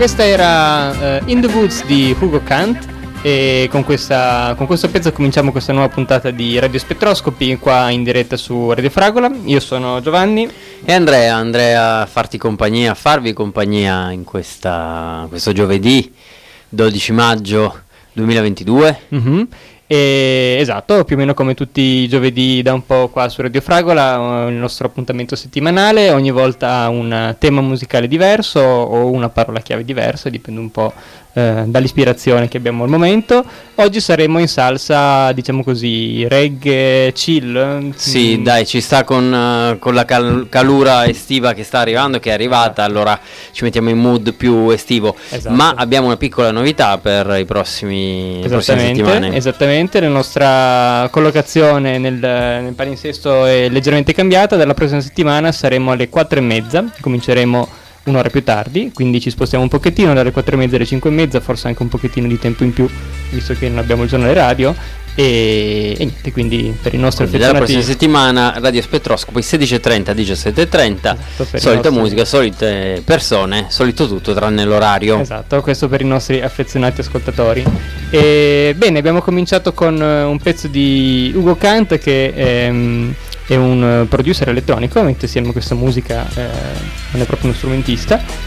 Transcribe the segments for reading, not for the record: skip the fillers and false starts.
questa era In the Woods di Hugo Kant. E con questo pezzo cominciamo questa nuova puntata di Radio Spettroscopy qua in diretta su Radio Fragola. Io sono Giovanni e Andrea a farvi compagnia in questo giovedì 12 maggio 2022. Esatto, più o meno come tutti i giovedì da un po' qua su Radio Fragola, il nostro appuntamento settimanale, ogni volta un tema musicale diverso o una parola chiave diversa, dipende un po' dall'ispirazione che abbiamo al momento. Oggi saremo in salsa, diciamo così, reggae, chill. Sì, dai, ci sta con la calura estiva che sta arrivando, che è arrivata, allora ci mettiamo in mood più estivo. Esatto. Ma abbiamo una piccola novità per le prossime settimane. Esattamente, la nostra collocazione nel palinsesto è leggermente cambiata. Dalla prossima settimana saremo alle 4:30, cominceremo un'ora più tardi, quindi ci spostiamo un pochettino dalle 4:30 alle 5:30, forse anche un pochettino di tempo in più, visto che non abbiamo il giornale radio. E niente, quindi per i nostri affezionati dalla prossima settimana Radio Spettroscopy 16:30 17:30, esatto, solita musica, solite persone, solito tutto tranne l'orario. Esatto, questo per i nostri affezionati ascoltatori. E bene, abbiamo cominciato con un pezzo di Hugo Kant, che è un producer elettronico, mette insieme questa musica, non è proprio uno strumentista.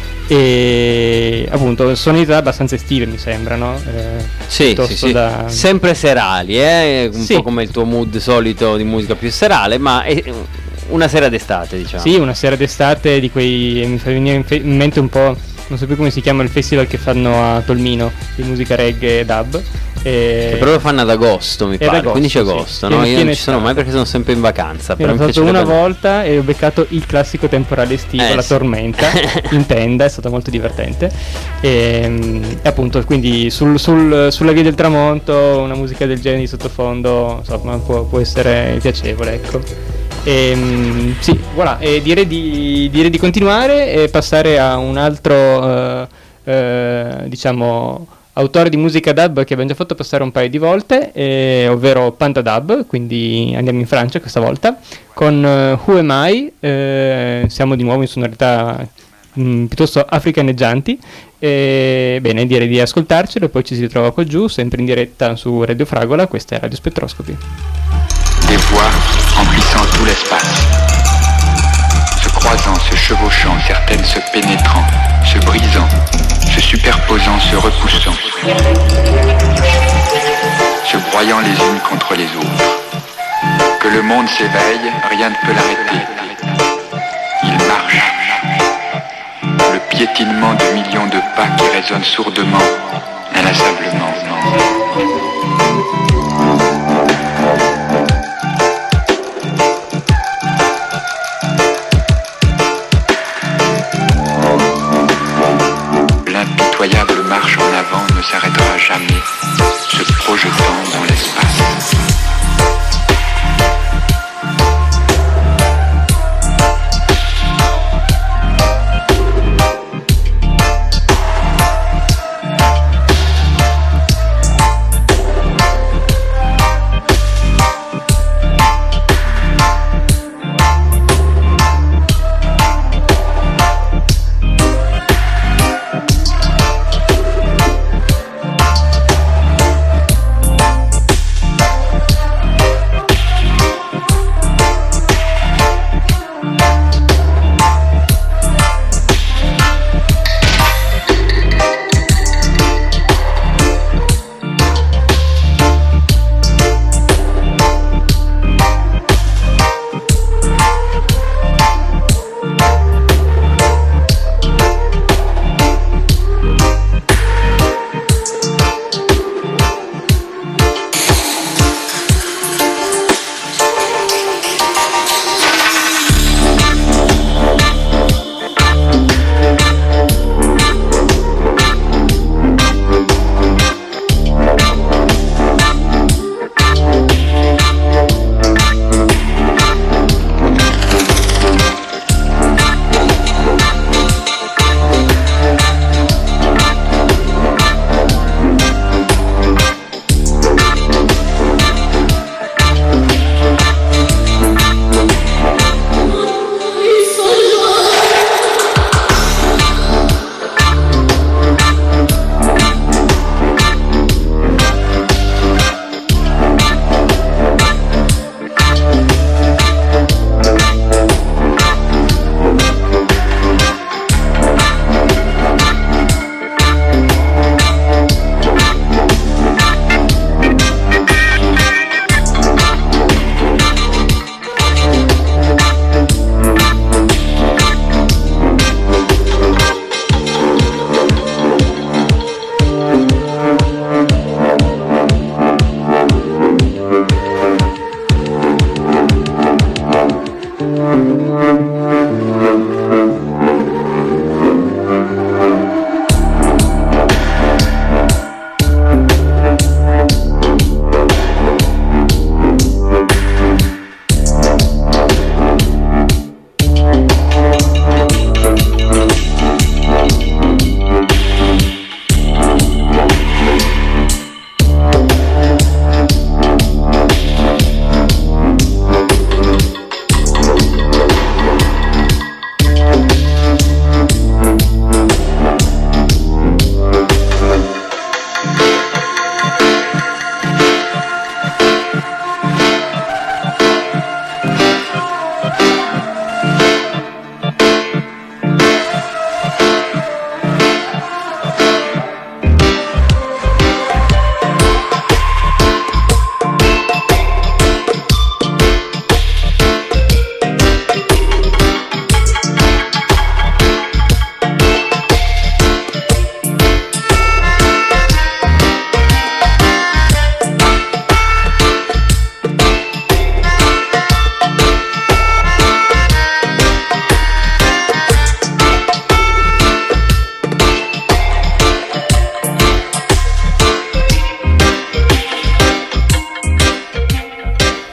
E appunto sonorità abbastanza estive, mi sembrano. Sì. Sempre serali, un po' come il tuo mood solito di musica più serale, ma è una sera d'estate, diciamo. Sì, una sera d'estate di quei, mi fa venire in mente un po', non so più come si chiama il festival che fanno a Tolmino di musica reggae e dub. Che però lo fanno ad agosto, mi pare, 15 agosto, no? Io non ci sono mai perché sono sempre in vacanza. Io l'ho fatto una volta e ho beccato il classico temporale estivo, la tormenta, in tenda, è stato molto divertente. E appunto, quindi sulla via del tramonto, una musica del genere di sottofondo, insomma, può essere piacevole, ecco. Sì, voilà, e direi di continuare e passare a un altro, diciamo, autore di musica dub che abbiamo già fatto passare un paio di volte, ovvero Panda Dub, quindi andiamo in Francia questa volta, con Who Am I, siamo di nuovo in sonorità piuttosto africaneggianti, bene, direi di ascoltarcelo e poi ci si ritrova qua giù, sempre in diretta su Radio Fragola, questa è Radio Spettroscopy. Des voix emplissant tout l'espace, se croisant, se chevauchant, certaines se pénétrant, se brisant, se superposant, se repoussant, se broyant les unes contre les autres. Que le monde s'éveille, rien ne peut l'arrêter. Il marche. Le piétinement de millions de pas qui résonnent sourdement, inlassablement. L'impitoyable marche en avant ne s'arrêtera jamais, se projetant dans l'espace.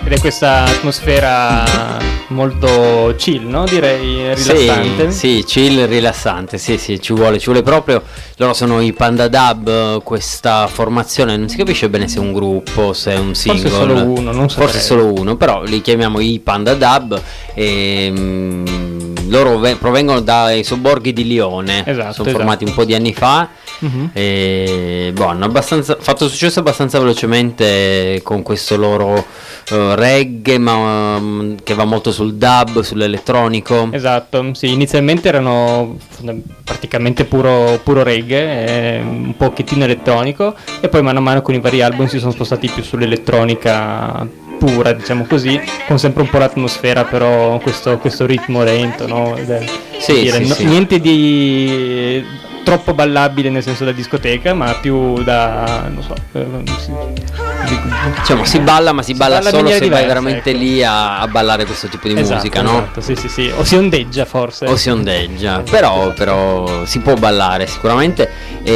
ed è questa atmosfera molto chill, no? Direi rilassante. Sì, chill, rilassante, sì, ci vuole proprio. Loro sono i Panda Dub, questa formazione, non si capisce bene se è un gruppo, se è un single. Forse solo uno, non so. Forse solo uno, però li chiamiamo i Panda Dub e loro provengono dai sobborghi di Lione. Sono formati un po' di anni fa. E hanno fatto successo abbastanza velocemente con questo loro reggae, ma che va molto sul dub, sull'elettronico. Esatto, sì, inizialmente erano praticamente puro reggae, un pochettino elettronico, e poi mano a mano con i vari album si sono spostati più sull'elettronica pura, diciamo così, con sempre un po' l'atmosfera, però questo ritmo lento, no? Niente di troppo ballabile nel senso da discoteca, ma più da, non so, diciamo si balla, ma si balla solo se vai veramente, ecco, lì a ballare questo tipo di musica, no? Esatto, sì, o si ondeggia forse. O si ondeggia, però si può ballare sicuramente.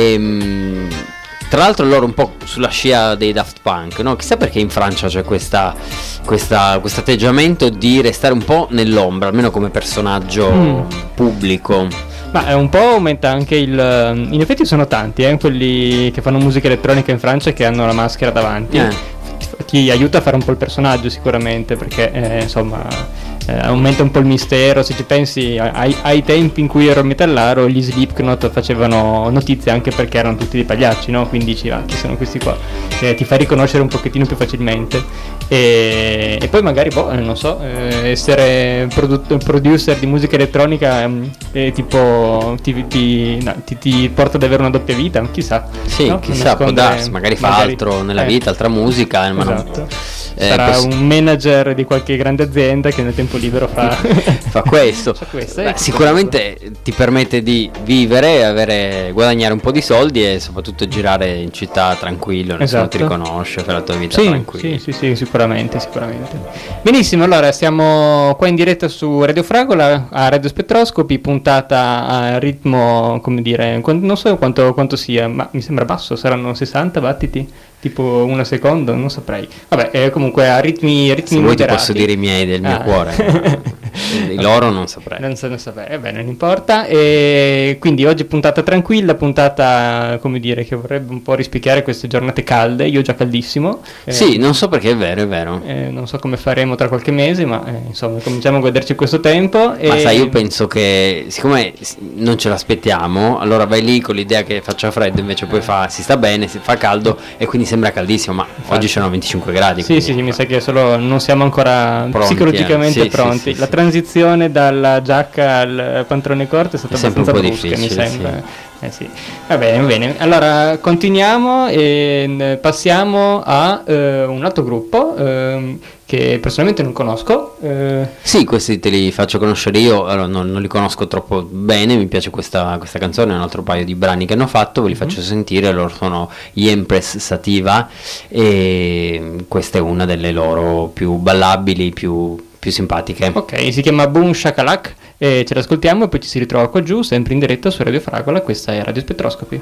Tra l'altro loro un po' sulla scia dei Daft Punk, no? Chissà perché in Francia c'è questo atteggiamento di restare un po' nell'ombra, almeno come personaggio pubblico. Ma un po' aumenta anche in effetti sono tanti quelli che fanno musica elettronica in Francia che hanno la maschera davanti. Ti aiuta a fare un po' il personaggio sicuramente, perché insomma aumenta un po' il mistero. Se ci pensi ai tempi in cui ero metallaro, gli Slipknot facevano notizia anche perché erano tutti dei pagliacci, no? Quindi dici, chi sono questi qua? Ti fa riconoscere un pochettino più facilmente. E poi magari non so, essere producer di musica elettronica tipo ti porta ad avere una doppia vita, chissà. Sì, no? Chissà, può darsi, magari fa altro nella vita, altra musica, ma esatto. Sarà un manager di qualche grande azienda che nel tempo libero fa questo. Sicuramente ti permette di vivere, guadagnare un po' di soldi e soprattutto girare in città tranquillo, nessuno ti riconosce, fare la tua vita tranquilla. Sì, sicuramente. Benissimo, allora siamo qua in diretta su Radio Fragola, a Radio Spettroscopi, puntata a ritmo, come dire, non so quanto sia, ma mi sembra basso, saranno 60 battiti? Tipo una seconda, non saprei. Vabbè, comunque a ritmi se vuoi ti posso dire i miei del mio cuore. I loro non saprei. Non saprei, beh, non importa. E quindi oggi puntata tranquilla, puntata, come dire, che vorrebbe un po' rispecchiare queste giornate calde. Io ho già caldissimo. Sì, non so perché è vero. Non so come faremo tra qualche mese, ma insomma, cominciamo a goderci questo tempo. Ma sai, io penso che siccome non ce l'aspettiamo, allora vai lì con l'idea che faccia freddo, invece poi si sta bene, si fa caldo e quindi sembra caldissimo, ma oggi c'erano 25 gradi. Sì, mi sa che solo non siamo ancora pronti, psicologicamente pronti. La transizione dalla giacca al pantalone corto è stata abbastanza brusca, mi sembra. Sì. Va bene. Allora continuiamo e passiamo a un altro gruppo che personalmente non conosco. Sì, questi te li faccio conoscere io. Allora, non li conosco troppo bene, mi piace questa canzone, un altro paio di brani che hanno fatto, ve li faccio sentire. Loro sono gli Empress Sativa e questa è una delle loro più ballabili, più simpatiche. Ok, si chiama Boom Shakalak e ce l'ascoltiamo e poi ci si ritrova qua giù, sempre in diretta su Radio Fragola. Questa è Radio Spettroscopi.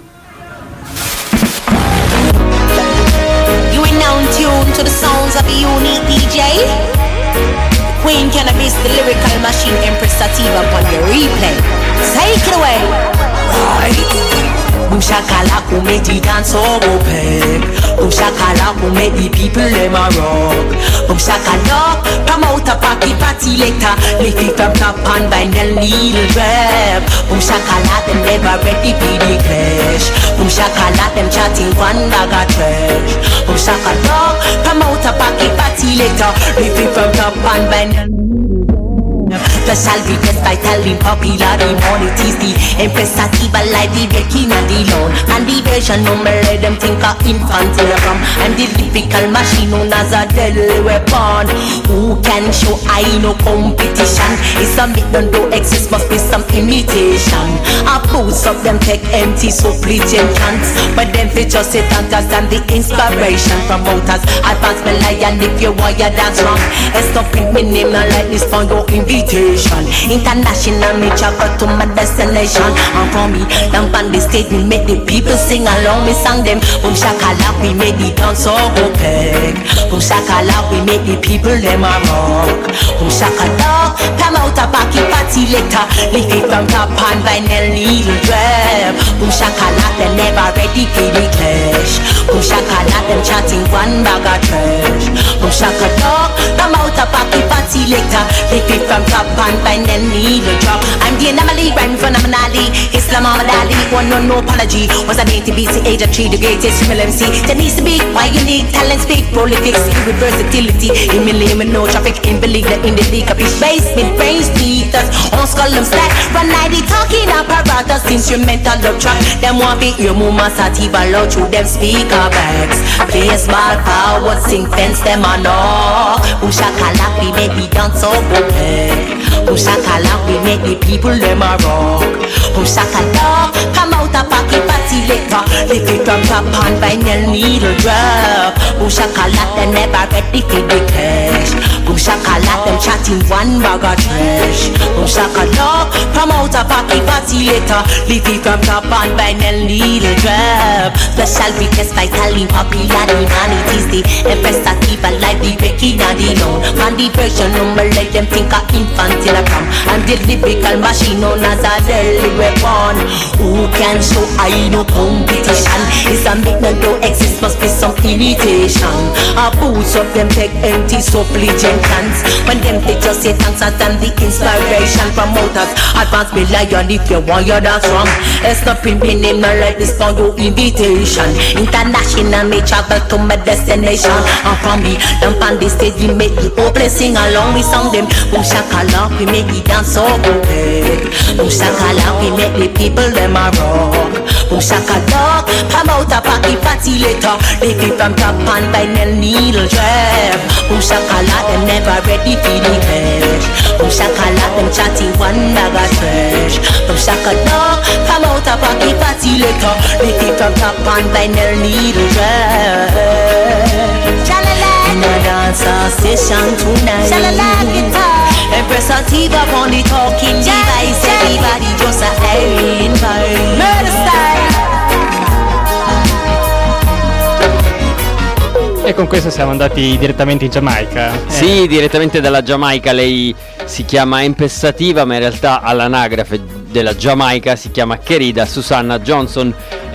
You are now in tune to the sounds of a unique DJ. Queen Cannabis, the lyrical machine, Empress Sativa on the replay. Take it away. Right. Boom shakalak who make the dance all open. Boom shakalak who make the people them a rock. Boom shakalak, promote a party later. Lift it from top and by the needle grab. Boom shakalak them never ready for the clash. Boom shakalak them chatting one bag of trash. Boom shakalak, promote a party later. Lift it from top and by the the salvi best vital in popular immunities. The Empress Sativa life the breaking and the loan. And the version number let them think of infantile rum. I'm the lyrical machine known as a deadly weapon. Who can show I no competition? It's a myth don't do exist, must be some imitation. I boost up them tech empty so preaching chants. But them fit just sit and understand the inspiration from promoters. Advance my lion if you want your dance wrong. And stop print me name and like this for your invitation. invitation. International, me travel to my destination. And for me, down on the stage, we make the people sing along. Me sang them, boom shakala, we make the dance so okay. Boom shakala, we make the people them a rock. Boom shakala, come out a pocket party later. Lift it from top and vinyl needle drop. Boom shakala, they never ready for the clash. Boom shakala, them chatting one bag of trash. Boom shakala, come out a pocket party later. Lift it from top and vinyl needle drop. I'm the anomaly, rhyme phenomenally. Islam Ali, one no apology. Was a dainty beast, the age of 3, the greatest female MC. There needs to be why unique talent, speak prolific, with versatility. In million, no traffic, in believe that in the league of his base, mid brains, beaters, on skull them stack. Run 90 talking apparatus, instrumental dub track. Them want be your mama sativa loud through them speaker bags. Play a small power, sing fence them on all. Ushakala, we make the dance so good. Ushakala, we make the people them a rock. Ushakala, come out a pocket party later. Lift it from top and vinyl needle drop. Ushakala, they never ready for the cash. Ushakala, them chatting one bag of trash. Ushakala, come out a pocket party later. Lift it from top and vinyl needle drop. Special request by Tally popular humanities. The Empress Sativa live the Becky Daddy long. Man the version number let them think a infant in a cram. I'm the lyrical machine known as a deadly weapon. Who can show I no competition? It's a make no don't exist, must be some imitation. A boots up them take empty supplicant cans. When them they just say thanks as them the inspiration promoters. Advance me lion if you want you that's wrong. It's not pimping name not like this for your invitation. International me travel to my destination. And from me, them on the stage we make the whole place sing along. We song them boom shakala, we make the dance so good. Boom shakala, we make the people them a rock. Boom shakala, come out a party later. Lift it from top and vinyl needle drop. Boom shakala, them never ready for the cash. Boom shakala, them chatting one bag of trash. Boom shakala, come out a party later. Lift it from top and vinyl needle drop. In a dancer session tonight. Shalala guitar. Empress Sativa on the talking device. Everybody just a airing vibe. Murder style. E con questo siamo andati direttamente in Giamaica. Sì, direttamente dalla Giamaica. Lei si chiama Empress Sativa, ma in realtà all'anagrafe della Giamaica si chiama Kerida Susanna Johnson,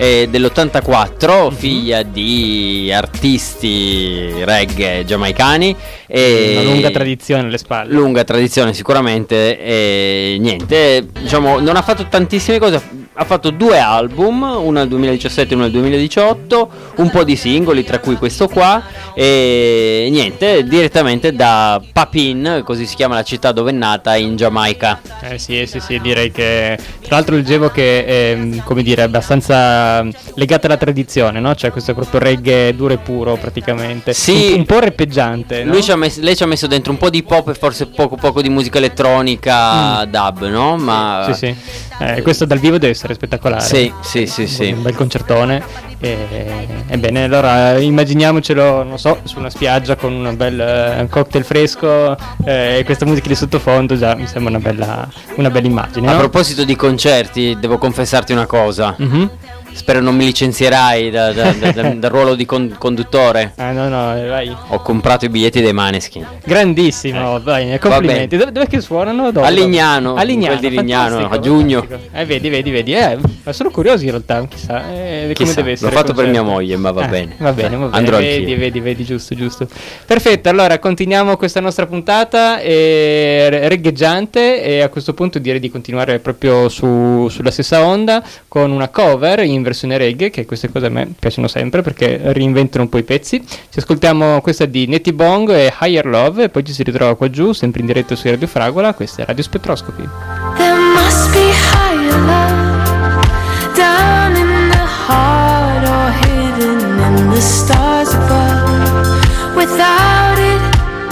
dell'84, figlia di artisti reggae giamaicani. Una lunga tradizione alle spalle. Lunga tradizione sicuramente, e niente, diciamo, non ha fatto tantissime cose. Ha fatto 2 album, uno nel 2017 e uno nel 2018, un po' di singoli, tra cui questo qua, e niente, direttamente da Papin, così si chiama la città dove è nata, in Giamaica. Sì, direi che tra l'altro leggevo che è, come dire, abbastanza legata alla tradizione, no? Cioè questo è proprio reggae duro e puro praticamente. Sì, un po' rappeggiante, no? Lei ci ha messo dentro un po' di pop e forse poco di musica elettronica, dub, no? Ma sì. Questo dal vivo deve essere spettacolare. Sì. Un bel concertone. Ebbene, allora immaginiamocelo, non so, su una spiaggia con un bel cocktail fresco e questa musica di sottofondo, già mi sembra una bella immagine. A no? proposito di concerti, devo confessarti una cosa. Mm-hmm. Spero non mi licenzierai dal ruolo di conduttore. No, vai. Ho comprato i biglietti dei Maneskin. Grandissimo, vai, complimenti. Dove che suonano? A Lignano, a Lignano, a giugno. Vedi. Ma sono curioso in realtà, chissà come deve essere. L'ho fatto per mia moglie, ma va bene. Va bene. Andrò vedi, giusto. Perfetto, allora continuiamo questa nostra puntata reggaeggiante, e a questo punto direi di continuare proprio sulla stessa onda con una cover in versione reggae, che queste cose a me piacciono sempre perché reinventano un po' i pezzi. Ci ascoltiamo questa di Netty Bong e Higher Love, e poi ci si ritrova qua giù sempre in diretta su Radio Fragola. Questa è Radio Spettroscopy. There must be higher love down in the heart or hidden in the stars above. Without it,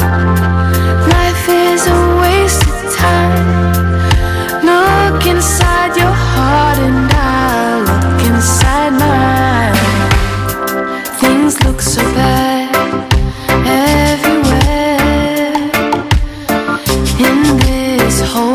life is a waste of time. Look inside your heart and I'll look inside mine. Things look so bad everywhere in this whole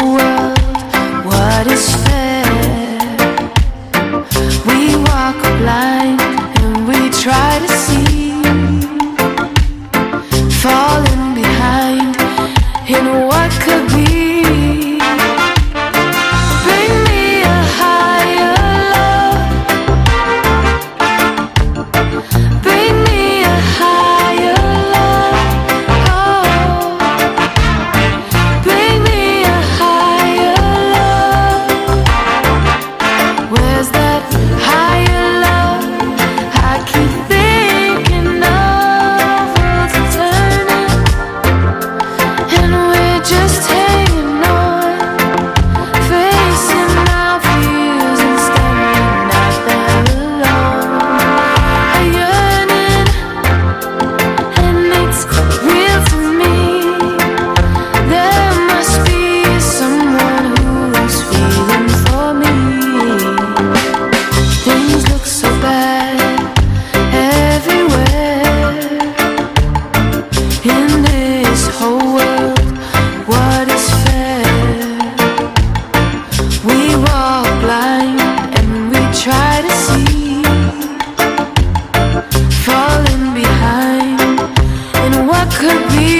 this whole world, what is fair? We walk blind and we try to see, falling behind in what could be.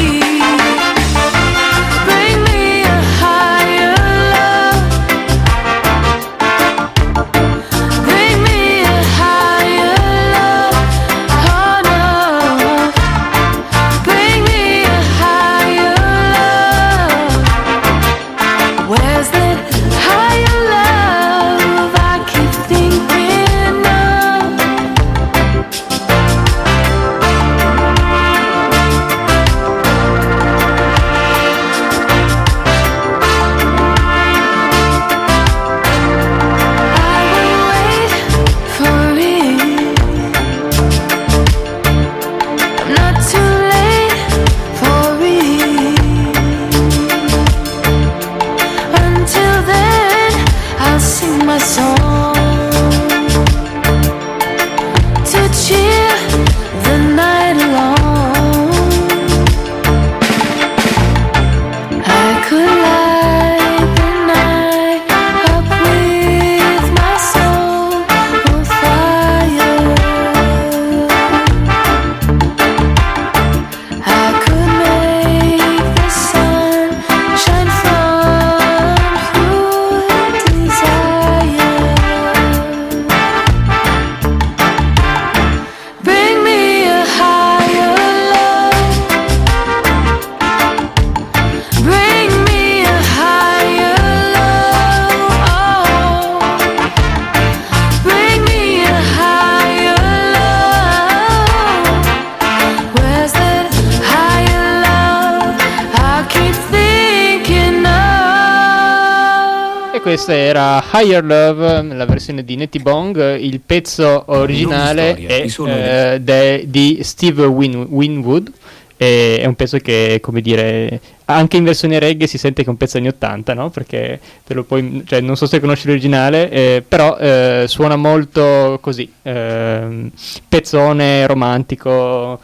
Questa era Higher Love, la versione di Nettie Bong. Il pezzo originale è di Steve Winwood. È un pezzo che, come dire, anche in versione reggae si sente che è un pezzo anni 80, no? Perché te lo puoi, cioè, non so se conosci l'originale, però suona molto così, pezzone romantico,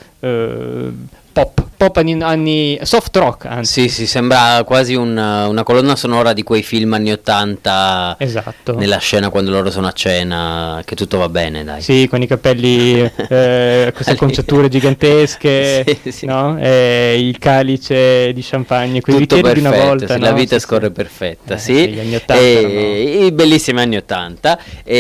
pop anni soft rock, anzi. Sì, sembra quasi una colonna sonora di quei film anni 80. Esatto. Nella scena quando loro sono a cena, che tutto va bene, dai. Sì, con i capelli, queste conciature gigantesche, sì. No? Il calice di champagne, quei bicchieri di una volta. Sì, no? La vita scorre perfetta, sì. Gli anni 80 i bellissimi anni 80.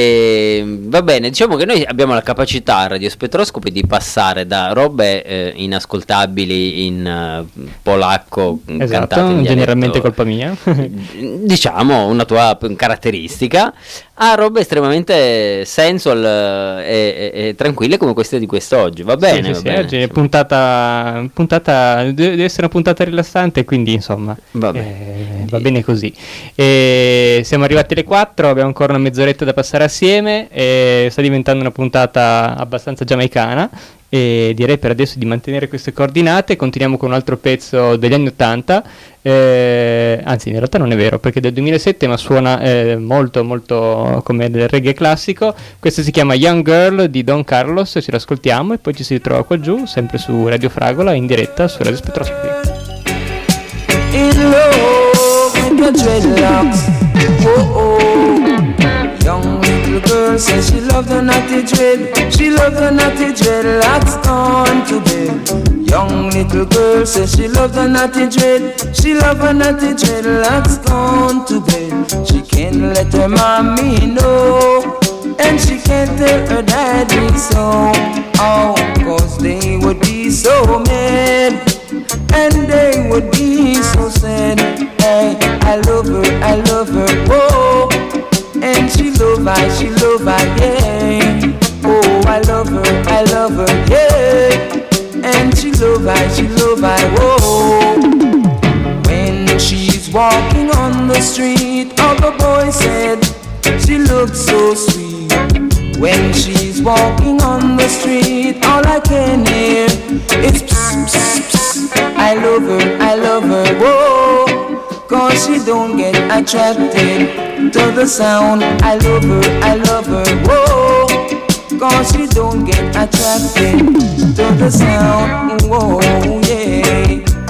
Va bene, diciamo che noi abbiamo la capacità a Radio Spettroscopi di passare da robe inascoltabili in polacco, esatto, generalmente colpa mia, diciamo una tua caratteristica, a robe estremamente sensual e tranquille come queste di quest'oggi. Va bene, sì, va bene. Oggi è puntata deve essere una puntata rilassante, quindi insomma va bene così. Siamo arrivati alle 4, abbiamo ancora una mezz'oretta da passare assieme, sta diventando una puntata abbastanza giamaicana. E direi per adesso di mantenere queste coordinate. Continuiamo con un altro pezzo degli anni 80, anzi in realtà non è vero perché è del 2007, ma suona molto molto come del reggae classico. Questo si chiama Young Girl di Don Carlos, ce l'ascoltiamo e poi ci si ritrova qua giù sempre su Radio Fragola in diretta su Radio Spettroscopi. In love with the dreadlocks, young little girl says she loved the natty dread. She loved the natty dreadlocks gone to bed. Young little girl says she loved the natty dread. She loved the natty dreadlocks gone to bed. She can't let her mommy know, and she can't tell her daddy so. Oh, cause they would be so mad, and they would be so sad. Hey, I love her, whoa. And she love I, yeah. Oh, I love her, yeah. And she love I, whoa. When she's walking on the street, all the boys said she looks so sweet. When she's walking on the street, all I can hear is psst, psst, psst. I love her, whoa. Cause she don't get attracted to the sound. I love her, whoa. Cause she don't get attracted to the sound, whoa, yeah.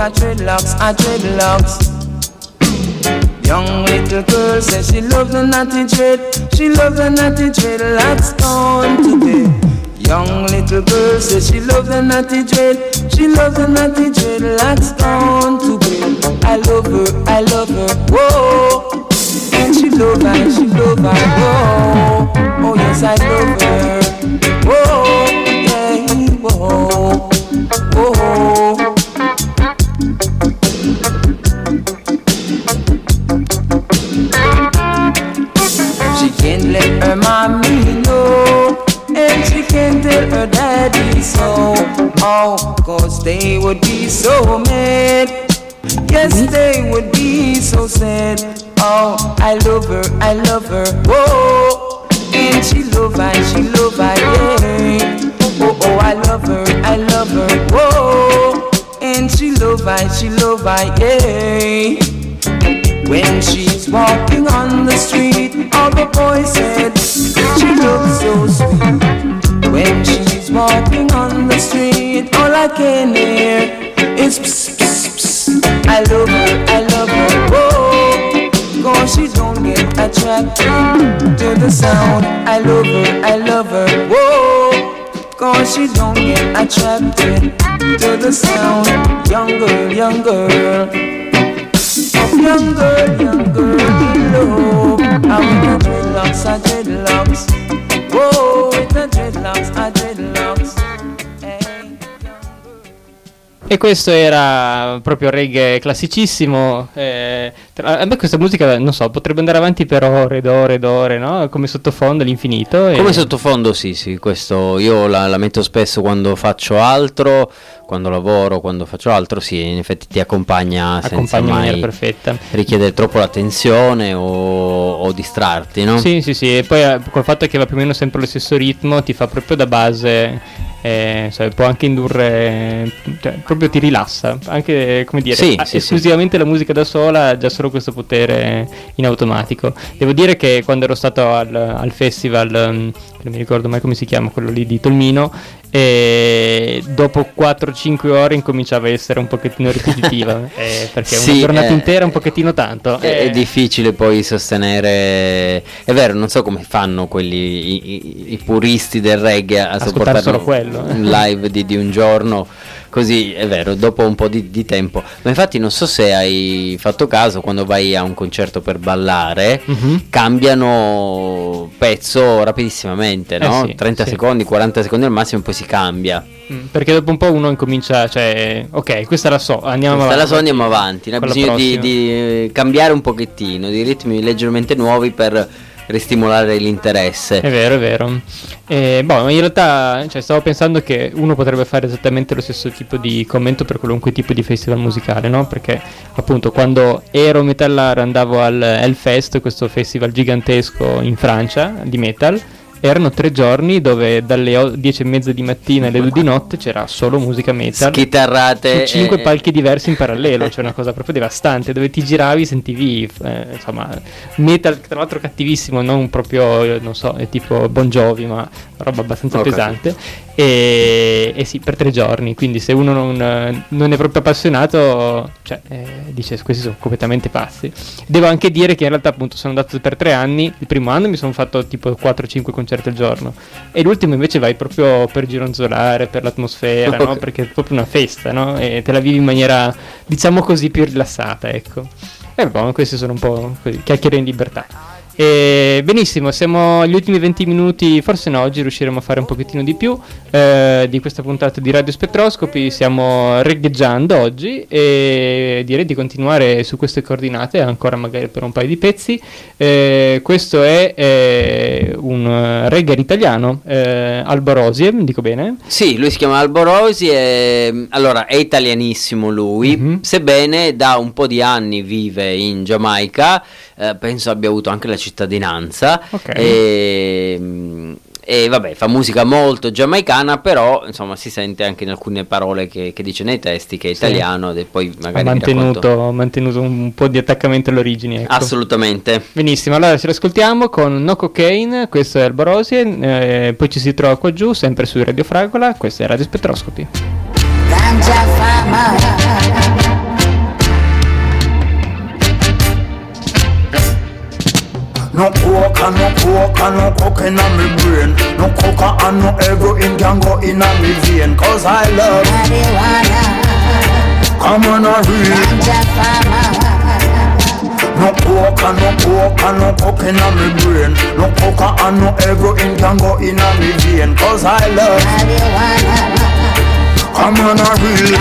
her dreadlocks. Young little girl says she loves the natty dread. She loves the natty dreadlocks on to bed. Young little girl says she loves the natty dread. She loves the natty dreadlocks on to bed. I love her, whoa. And she love her, whoa. Oh yes, I love her, whoa, yeah, whoa, whoa. She can't let her mommy know, and she can't tell her daddy so. Oh, 'cause they would be so mad. Yes, they would be so sad. Oh, I love her, whoa. And she love her, yeah. Oh, oh, I love her, whoa. And she love her, yeah. When she's walking on the street, all the boys said she looks so sweet. When she's walking on the street, all I can hear is psst, psst, psst. I love her, whoa. 'Cause she don't get attracted to the sound. I love her, whoa. 'Cause she don't get attracted to the sound. Young girl, young girl, in love. I with the dreadlocks, whoa, with the dreadlocks, E questo era proprio reggae classicissimo. A me questa musica, non so, potrebbe andare avanti per ore ed ore ed ore, no? Come sottofondo all'infinito. Come sottofondo sì, questo io la metto spesso quando faccio altro, quando lavoro, quando faccio altro, sì, in effetti ti accompagna senza mai perfetta. richiedere troppo l'attenzione o distrarti, no? Sì, e poi col fatto che va più o meno sempre lo stesso ritmo, ti fa proprio da base. Può anche indurre, cioè, proprio ti rilassa, anche, come dire, esclusivamente la musica da sola ha già solo questo potere in automatico. Devo dire che quando ero stato al festival, non mi ricordo mai come si chiama, quello lì di Tolmino, e dopo 4-5 ore incominciava a essere un pochettino ripetitiva, perché una giornata intera un pochettino tanto. È difficile poi sostenere, è vero, non so come fanno quelli i puristi del reggae a sopportare solo quello. Un live di un giorno così, è vero, dopo un po' di tempo. Ma infatti non so se hai fatto caso, quando vai a un concerto per ballare, cambiano pezzo rapidissimamente, no? 30 secondi, 40 secondi al massimo, poi si cambia. Perché dopo un po' uno incomincia, cioè, ok, questa la so, andiamo avanti. Hai bisogno di cambiare un pochettino, di ritmi leggermente nuovi per ristimolare l'interesse. È vero. In realtà, stavo pensando che uno potrebbe fare esattamente lo stesso tipo di commento per qualunque tipo di festival musicale, no? Perché appunto quando ero metallaro andavo al Hellfest, questo festival gigantesco in Francia di metal. Erano 3 giorni dove dalle 10:30 di mattina alle 2 di notte c'era solo musica metal, schitarrate, su 5 palchi diversi in parallelo, cioè una cosa proprio devastante, dove ti giravi, sentivi metal, tra l'altro cattivissimo, non proprio, non so, è tipo Bon Jovi, ma roba abbastanza pesante. E sì, per 3 giorni, quindi se uno non è proprio appassionato, dice questi sono completamente pazzi. Devo anche dire che in realtà appunto sono andato per 3 anni. Il primo anno mi sono fatto tipo 4-5 concerti al giorno, e l'ultimo invece vai proprio per gironzolare, per l'atmosfera, no? Perché è proprio una festa, no? E te la vivi in maniera, diciamo così, più rilassata, ecco. E questi sono un po' così, chiacchiere in libertà. Benissimo, siamo agli ultimi 20 minuti, forse no, oggi riusciremo a fare un pochettino di più di questa puntata di Radio Spettroscopy. Stiamo regheggiando oggi e direi di continuare su queste coordinate ancora magari per un paio di pezzi. Questo è un reggae italiano, Albo Rosie, dico bene? Sì, lui si chiama Albo Rosie, allora è italianissimo lui, sebbene da un po' di anni vive in Giamaica. Penso abbia avuto anche la cittadinanza, e vabbè, fa musica molto giamaicana, però insomma si sente anche in alcune parole che dice nei testi che è italiano, e poi magari ha mantenuto un po' di attaccamento alle origini, ecco. Assolutamente. Benissimo, allora ce l'ascoltiamo con No Cocaine, questo è Albo Rosie, poi ci si trova qua giù sempre su Radio Fragola, questo è Radio Spettroscopy. Ganja Fama. No coke and no coke and no coke in me brain. No coca and no heroin can go in me vein. Cause I love marijuana. Come on a real no coke and no coke and no coke in me brain. No coca and no heroin can go in me vein. Cause I love marijuana. Come on a real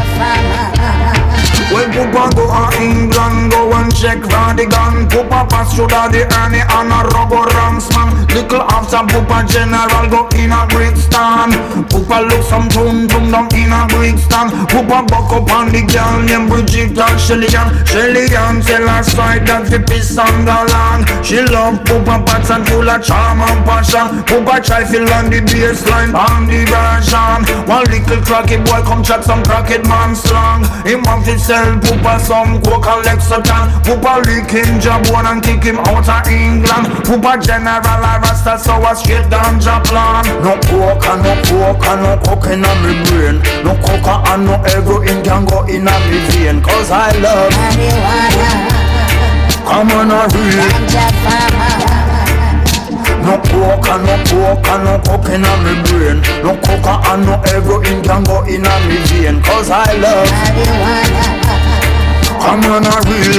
well, Poopa go to England, go and check for the gun. Poopa pass through the Ernie and a rubber ranks man. Little after Poopa general go in a Brixton. Poopa look some tum down in a Brixton. Poopa buck up on the girl named Bridget and Shelly-Ann tell her side that the piss on the land. She love Poopa pats and full of charm and passion. Poopa try fill on the baseline on the version. One little cracky boy come chat some crackhead man slang. Him want to sell Poopa some coke and Lexington. Poopa lick him job one and kick him out of England. Poopa general a rasta so a straight ganja plan. No coke and no coke and no coke in me brain. No coca and no heroin can go in me vein. Cause I love marijuana. Come on a real no coke and no coke and no coke in me brain. No coca and no heroin can go in me vein. Cause I love marijuana. Come on a real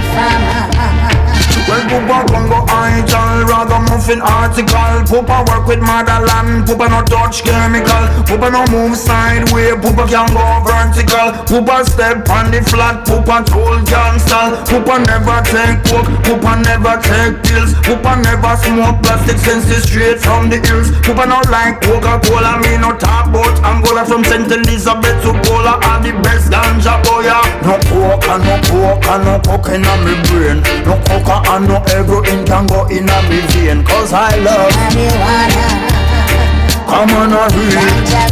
well, Poopa Congo idol, rather muffin article. Poopa work with motherland, Poopa no touch chemical. Poopa no move sideways, Poopa can go vertical. Poopa step on the flat, Poopa tool cancel. Poopa never take coke, Poopa never take pills. Poopa never smoke plastic since it's straight from the hills. Poopa no like Coca-Cola, me no talk about Angola. From St. Elizabeth to Cola are the best ganja boy. No coke and no coke and no coke in me brain. No coca and no heroin can go in me vein. Cause I love marijuana. Come on a real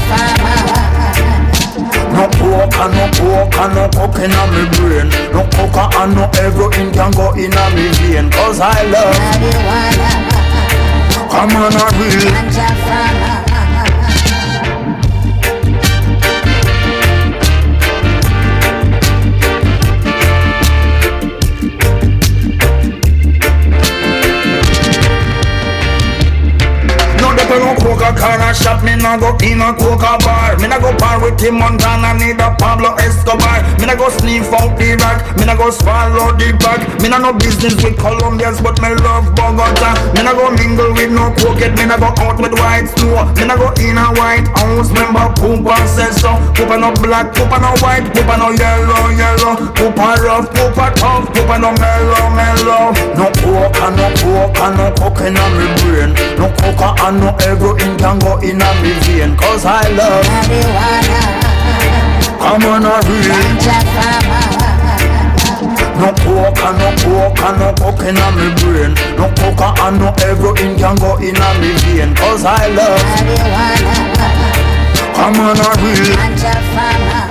no coke and no coke and no coke in me brain. No coca and no heroin can go in me vein. Cause I love marijuana. Come on a real no Coca-Cola shop, me na go in a Coca bar. Me na go par with Tim Montana, need a Pablo Escobar. Me na go sniff out the rack, me na go swallow the bag. Me na no business with Colombians, but me love Bogota. Me na go mingle with no cokehead, me na go out with white snow. Me na go in a White House, remember Poopa says so. Poopa no black, Poopa no white, Poopa no yellow. Poopa rough, Poopa tough, Poopa no mellow. No coke and no coke and no coke in me brain. No coca and no heroin can go in me vein. Cause I love marijuana. Come on a real no coke and no coke and no coke in me brain. No coca and no heroin can go in me vein. Cause I love marijuana. Come on a real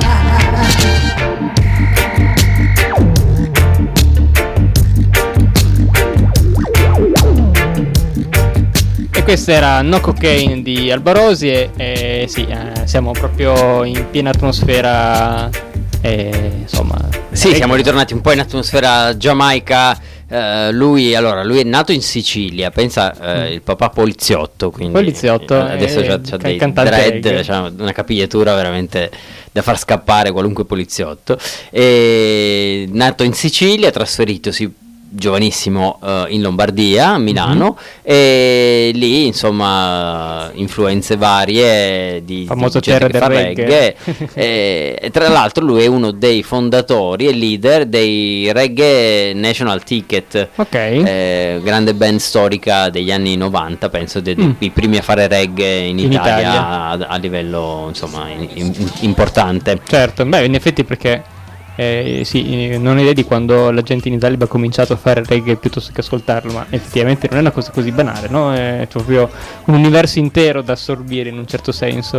Questa era No Cocaine di Albarosi e sì, siamo proprio in piena atmosfera insomma. Sì, siamo ritornati un po' in atmosfera giamaica. Lui è nato in Sicilia, pensa, il papà poliziotto, quindi poliziotto, adesso c'ha dei dread, c'ha una capigliatura veramente da far scappare qualunque poliziotto. E nato in Sicilia, trasferitosi giovanissimo in Lombardia, a Milano, e lì insomma influenze varie di famoso terra del reggae. E tra l'altro lui è uno dei fondatori e leader dei Reggae National Ticket, grande band storica degli anni 90, penso i primi a fare reggae in Italia. A livello insomma importante. Certo, beh, in effetti perché sì, non ho idea di quando la gente in Italia ha cominciato a fare reggae piuttosto che ascoltarlo, ma effettivamente non è una cosa così banale, no? È proprio un universo intero da assorbire in un certo senso.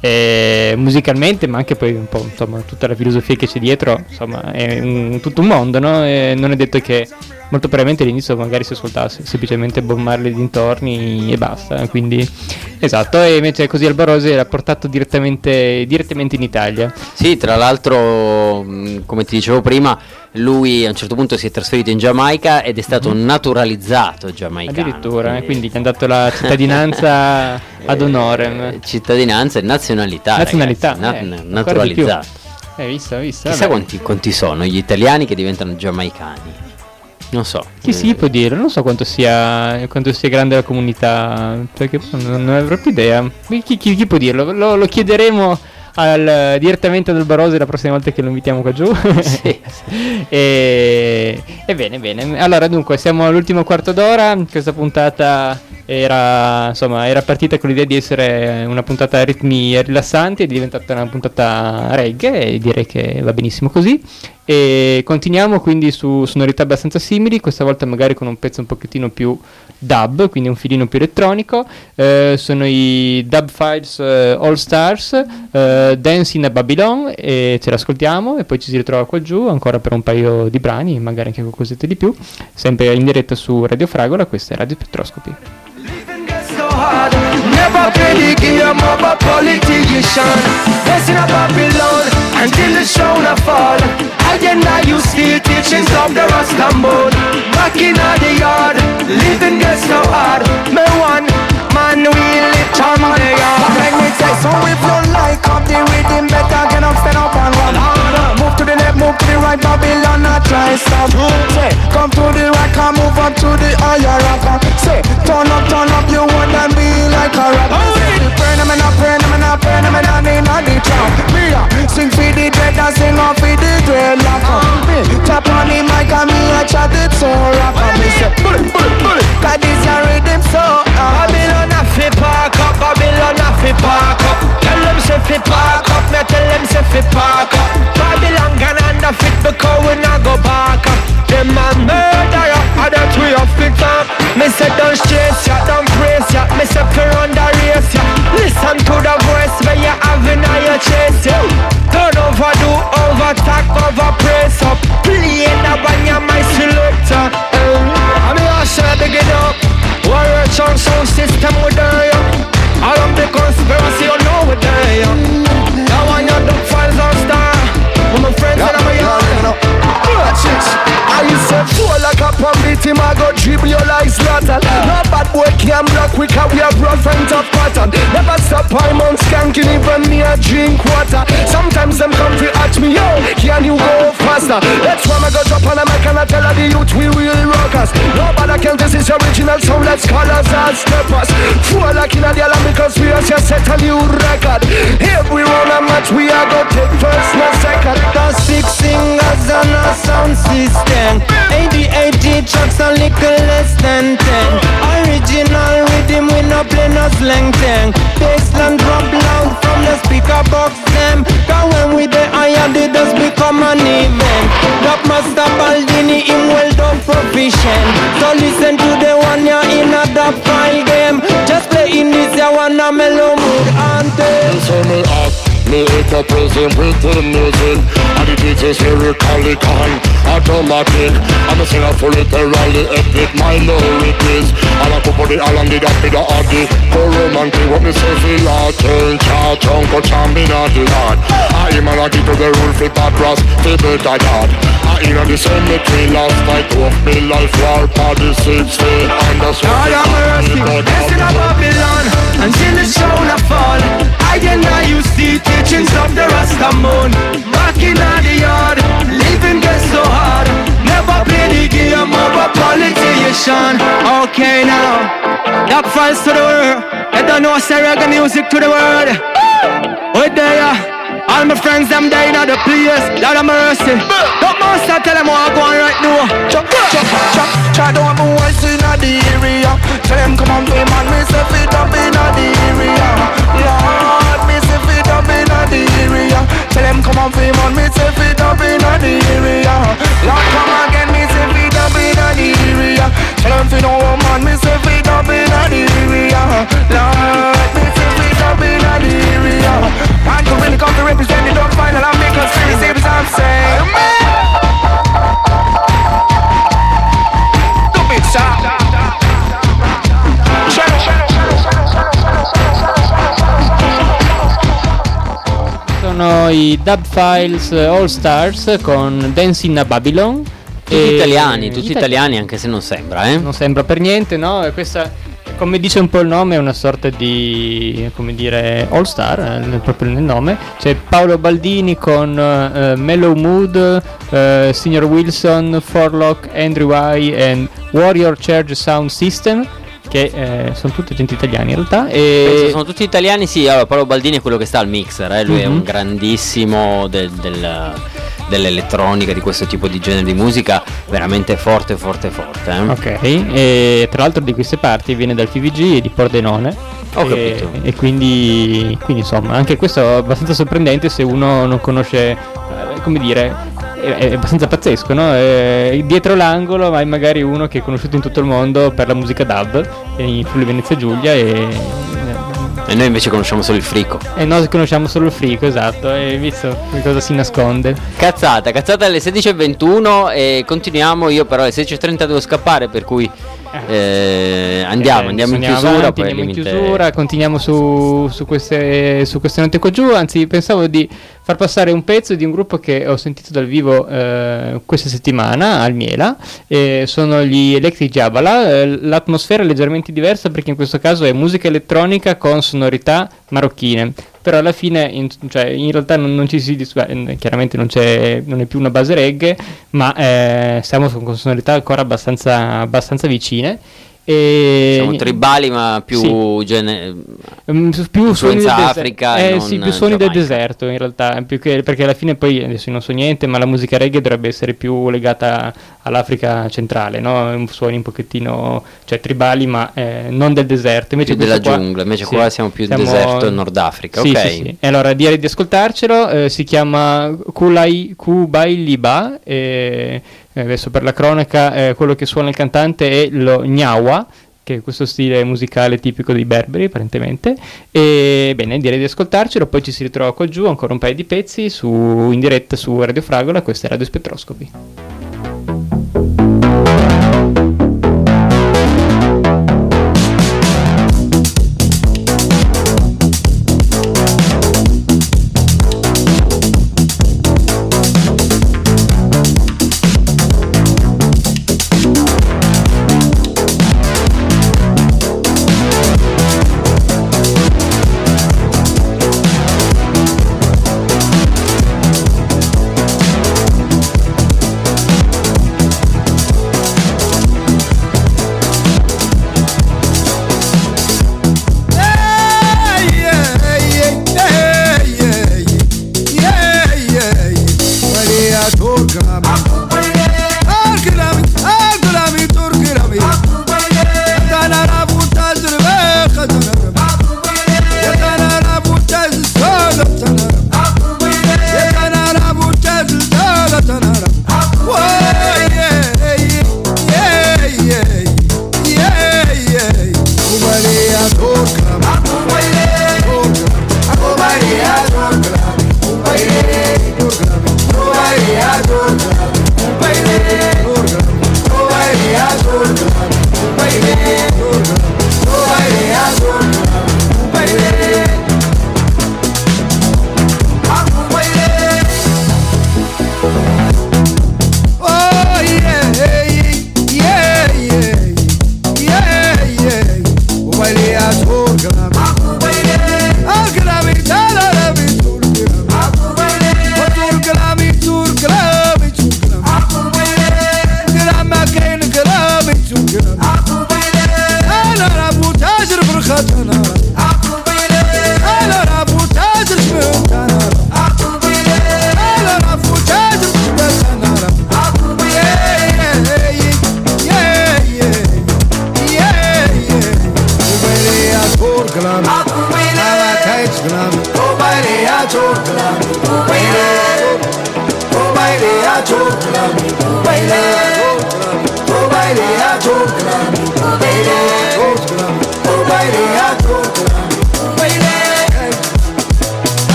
musicalmente, ma anche poi un po' insomma tutta la filosofia che c'è dietro, insomma è tutto un mondo, no? E non è detto che molto probabilmente all'inizio magari si ascoltasse semplicemente Bob Marley dintorni e basta, quindi esatto. E invece così Alba Rose l'ha portato direttamente in Italia. Sì, tra l'altro come ti dicevo prima, lui a un certo punto si è trasferito in Giamaica ed è stato naturalizzato giamaicano. Addirittura, quindi gli hanno dato la cittadinanza ad onore. Cittadinanza e nazionalità. Naturalizzato. Visto. Chissà quanti sono gli italiani che diventano giamaicani. Non so. Chi si può dire? Non so quanto sia grande la comunità, perché non ne avrò più idea. Chi può dirlo? Lo chiederemo direttamente ad Alba Rose la prossima volta che lo invitiamo qua giù. Sì. E bene. Allora, dunque, siamo all'ultimo quarto d'ora. Questa puntata era partita con l'idea di essere una puntata a ritmi rilassanti, è diventata una puntata reggae e direi che va benissimo così. E continuiamo quindi su sonorità abbastanza simili, questa volta magari con un pezzo un pochettino più dub, quindi un filino più elettronico. Sono i Dub Files All Stars, Dancing a Babylon, e ce l'ascoltiamo e poi ci si ritrova qua giù ancora per un paio di brani, magari anche qualcosetta di più, sempre in diretta su Radio Fragola. Questa è Radio Spettroscopy. Never play the game of a politician. Dancing a Babylon until the show na fall. Now you still teachings of the Rastamon. Back in the yard, living gets so hard. Me one man will live on the yard. Make me say so if you like up the rhythm, better get up, stand up and run harder. Move to the left, move to the right, Babylon, not try stop. Say, come to the right, come move up to the higher rock. Say, turn up, you wanna be like a rock. Burn them and I need not the trap. Me sing for the dread and sing off for the dreadlock. Tap on the mic and me a chat it so rock. Me say, bullet, cause this a rhythm so Babylon a fi park up, Babylon a fi park up. Tell them say fi park up, me tell them say fi park up. Babylon can under fit because we not go back up. Them a murderer, and that we a fit up. Me say don't stress ya, don't praise ya. Me say fi run the race ya. Listen to the voice where you have in your chest ya. Don't overdo, overtalk, overpraise up. Play the one you my selector. I mean I should begin up. Warrior sound system with there. All of the conspiracy you know with there. Now I know the files on star. With my friends and I'm a young. I said fool like a pump him I go dribble you like slaughter. No bad boy can block we can we have rough and tough pattern. Never stop I'm on skanking even me a drink water. Sometimes them come to ask me yo, can you go faster? That's why I go drop on a mic and I tell her the youth we real rockers. Nobody can this is original sound, let's call us as steppers. Fool like in a the alarm because we are just set a new record. Every round a match we are go take first no second. The 6 singers and a sound system. 80 tracks a little less than 10. Original rhythm we no play no slang tang. Bassline drop loud from the speaker box them. Cause when we the higher they just become an event. Drop Master Baldini him well done proficient. So listen to the one you're in a dub file game. Just play in this ya one a mellow mood anthem. Me hit a prison with the music, and the beat is lyrically calm, automatic. I'm a singer for literally epic, my lyric is. And I put body all on the that be the addy. Go romantic, what me say feel like turn charge, uncle champion of the land. I am a keep to the rule for bad brass, for better dad. I in the cemetery last night, of me life war, party 16, and that's what Lord have mercy, blessing of Babylon, until the show na fall. I and I you see teachings of the Rastamon. Back in the yard, living gets so hard. Never play the game of a politician. Okay now, that files to the world. I don't know say reggae music to the world. Oh there, all my friends them dying at the place. Lord have mercy. Don't master tell them what I go on right now. Try to have a voice in the area. Tell them come on play man, me say fit up in the area. Lord, me say fit up in the area. Tell them come on play man, me say fit up in the area. Lord come again, me say fit up in the area. Tell them fit no man, me say fit up in the area. Lord, me say fit up in the area. i Dub Files All Stars con Dancing a Babylon. Tutti italiani, anche se non sembra, Non sembra per niente, no? E questa, come dice un po' il nome, è una sorta di, come dire, all star, proprio nel nome. C'è Paolo Baldini con Mellow Mood, Signor Wilson, Forlock, Andrew I e Warrior Charge Sound System, che sono tutti gente italiani in realtà. E sono tutti italiani, sì. Allora, Paolo Baldini è quello che sta al mixer, lui è un grandissimo dell'elettronica, di questo tipo di genere di musica, veramente forte. Ok, e tra l'altro di queste parti viene dal TVG e di Pordenone. Ho capito. E quindi insomma anche questo è abbastanza sorprendente se uno non conosce, come dire, è abbastanza pazzesco, no? Dietro l'angolo hai magari uno che è conosciuto in tutto il mondo per la musica dub in Friuli Venezia Giulia e noi invece conosciamo solo il frico. E noi conosciamo solo il frico, esatto. E visto che cosa si nasconde. Cazzata alle 16:21 e continuiamo. Io però alle 16:30 devo scappare, per cui andiamo in chiusura. Poi andiamo in chiusura, continuiamo su queste note qua giù. Anzi, pensavo di far passare un pezzo di un gruppo che ho sentito dal vivo questa settimana al Miela. Sono gli Electric Jabala. L'atmosfera è leggermente diversa perché in questo caso è musica elettronica con sonorità marocchine. Però alla fine in realtà non ci si chiaramente non è più una base reggae, ma siamo con sonorità ancora abbastanza vicine. Siamo tribali, ma più più suoni del Africa, più suoni del deserto in realtà, più che, perché alla fine poi adesso non so niente, ma la musica reggae dovrebbe essere più legata all'Africa centrale, no? Suoni un pochettino tribali, ma non del deserto, invece più della giungla, invece qua siamo più deserto e Nord Africa. Ok. Sì. E allora direi di ascoltarcelo, si chiama Kubailiba, adesso per la cronaca quello che suona il cantante è lo Nyawa, che è questo stile musicale tipico dei berberi apparentemente. E bene, direi di ascoltarcelo, poi ci si ritrova qua giù ancora un paio di pezzi in diretta su Radio Fragola. Questa è Radio Spettroscopi.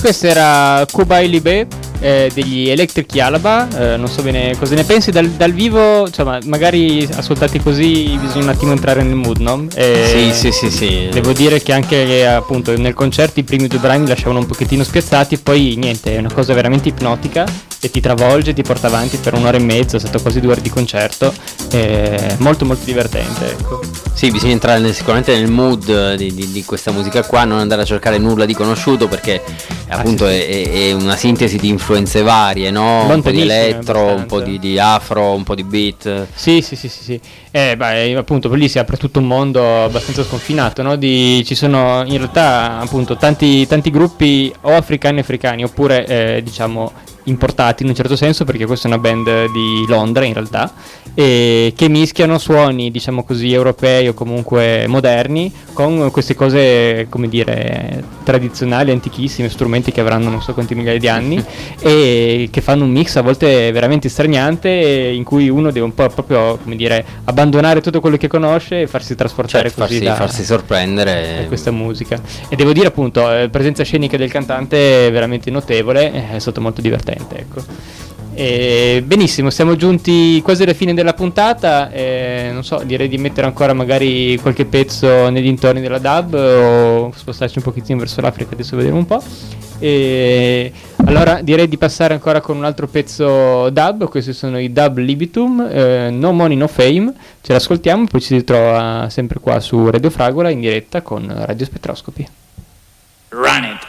questa era Kubai Libe degli Electric Yalaba. Non so bene cosa ne pensi dal vivo, insomma, magari ascoltati così bisogna un attimo entrare nel mood, no? Sì. Devo dire che anche appunto nel concerto i primi 2 brani lasciavano un pochettino spiazzati, poi niente, è una cosa veramente ipnotica e ti travolge, ti porta avanti per 1 ora e mezza, è stato quasi 2 ore di concerto, molto molto divertente, ecco. Sì, bisogna entrare sicuramente nel mood di questa musica qua, non andare a cercare nulla di conosciuto, perché appunto è una sintesi di influenze varie, no? Un po' di elettro, un po' di afro, un po' di beat. Sì. Appunto lì si apre tutto un mondo abbastanza sconfinato, no? Ci sono in realtà appunto tanti gruppi o africani oppure diciamo importati in un certo senso, perché questa è una band di Londra in realtà, che mischiano suoni diciamo così europei o comunque moderni con queste cose, come dire, tradizionali, antichissime, strumenti che avranno non so quanti migliaia di anni e che fanno un mix a volte veramente straniante, in cui uno deve un po' proprio, come dire, abbandonare tutto quello che conosce e farsi trasportare, farsi sorprendere da questa musica. E devo dire appunto presenza scenica del cantante veramente notevole, è stato molto divertente, ecco. Benissimo, siamo giunti quasi alla fine della puntata, non so, direi di mettere ancora magari qualche pezzo nei dintorni della dub o spostarci un pochettino verso l'Africa, adesso vedremo un po'. Allora direi di passare ancora con un altro pezzo dub. Questi sono i Dub Libitum, No Money No Fame. Ce l'ascoltiamo, poi ci si ritrova sempre qua su Radio Fragola in diretta con Radio Spettroscopy. Run it.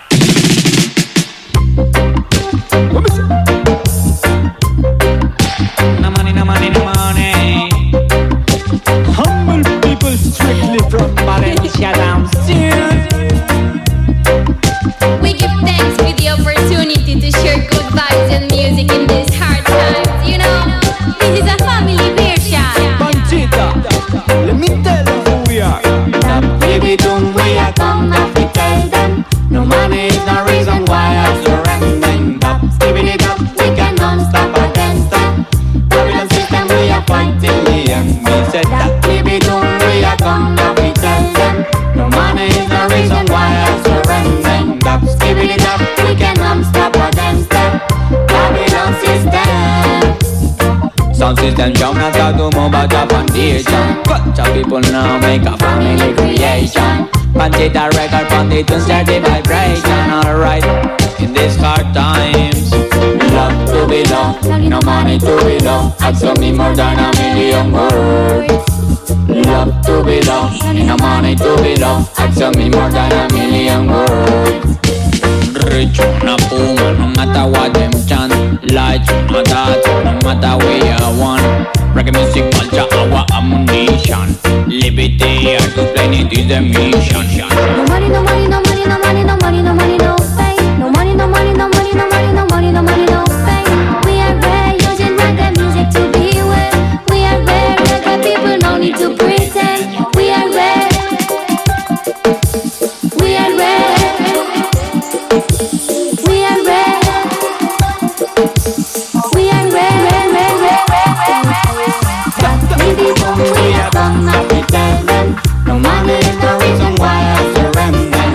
No money, no money, no money. Humble people strictly from Valencia down south. We give thanks for the opportunity to share good vibes and music in these hard times. You know, this is a family version. Panchita, let me tell you who we are. Baby, don't we are come now to tell them. No money is the reason why I'm surrendering. Giving it up, we can non-stop against them. Babylon system, we are fighting the end. We said that baby, don't we are come now to tell them. No money is the reason why I'm surrendering. Giving it up, we can non-stop against them. Babylon system. Sound system jump not talk to more about the foundation. Bunch of people now make a family creation. Panchita record foundation start the vibration. Alright, in these hard times, love to be loved, no money to be loved. Ask me more than a million words. Love to be loved, no money to be loved. Ask me more than a million words. Rich on a puma, no matter what them chant. Light on a dot, no matter where you want. Reggae music culture, our ammunition. Liberty, and to play it is the mission. No money, no money, no money, no money, no money, no money, no fame. No money, no money, no money, no money, no money, no money, no fame. We are rare, using reggae music to be well. We are rare, reggae people, no need to pretend. We are rare. We are rare. We are rare. We are rare, rare, rare, rare, rare. Baby, don't we are come now to tell them. No money is the reason why I surrender.